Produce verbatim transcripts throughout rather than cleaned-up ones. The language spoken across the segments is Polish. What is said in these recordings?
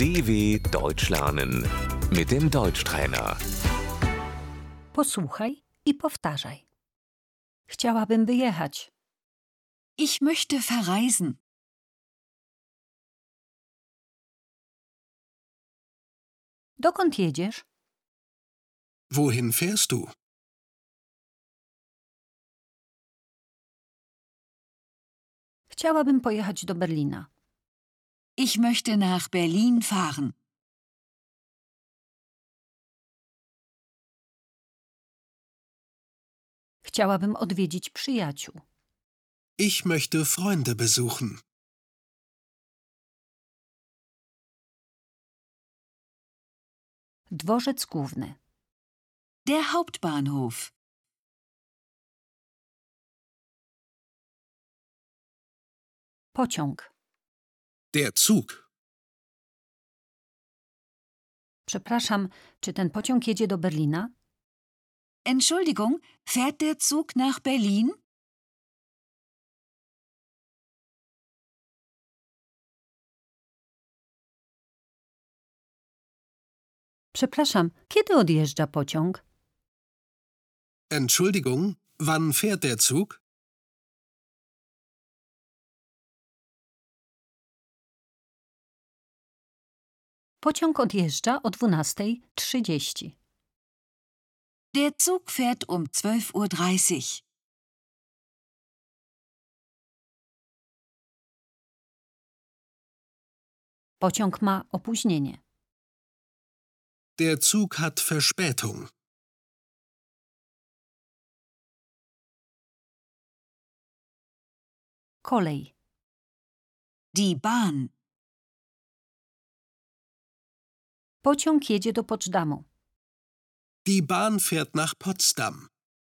D W Deutsch lernen mit dem Deutschtrainer. Posłuchaj i powtarzaj. Chciałabym wyjechać. Ich möchte verreisen. Dokąd jedziesz? Wohin fährst du? Chciałabym pojechać do Berlina. Ich möchte nach Berlin fahren. Chciałabym odwiedzić przyjaciół. Ich möchte Freunde besuchen. Dworzec główny. Der Hauptbahnhof. Pociąg. Der Zug. Przepraszam, czy ten pociąg jedzie do Berlina? Entschuldigung, fährt der Zug nach Berlin? Przepraszam, kiedy odjeżdża pociąg? Entschuldigung, wann fährt der Zug? Pociąg odjeżdża o dwunasta trzydzieści. Der Zug fährt um zwölf Uhr dreißig. Pociąg ma opóźnienie. Der Zug hat Verspätung. Kolej. Die Bahn. Pociąg jedzie do Potsdamu. Die Bahn fährt nach Potsdam.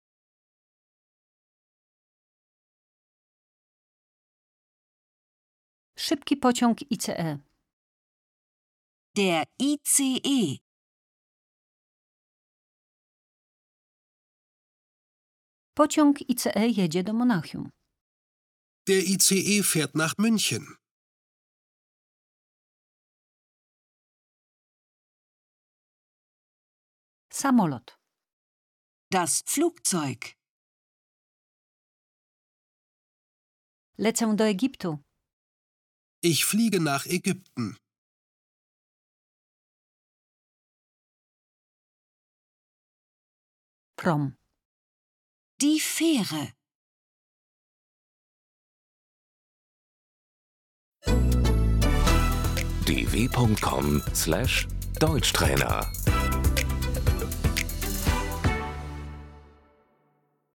Szybki pociąg I C E. Der I C E. Pociąg I C E jedzie do Monachium. Der I C E fährt nach München. Samolot. Das Flugzeug. Lecę do Egiptu. Ich fliege nach Ägypten. Prom. Die Fähre. d w punkt com slash Deutschtrainer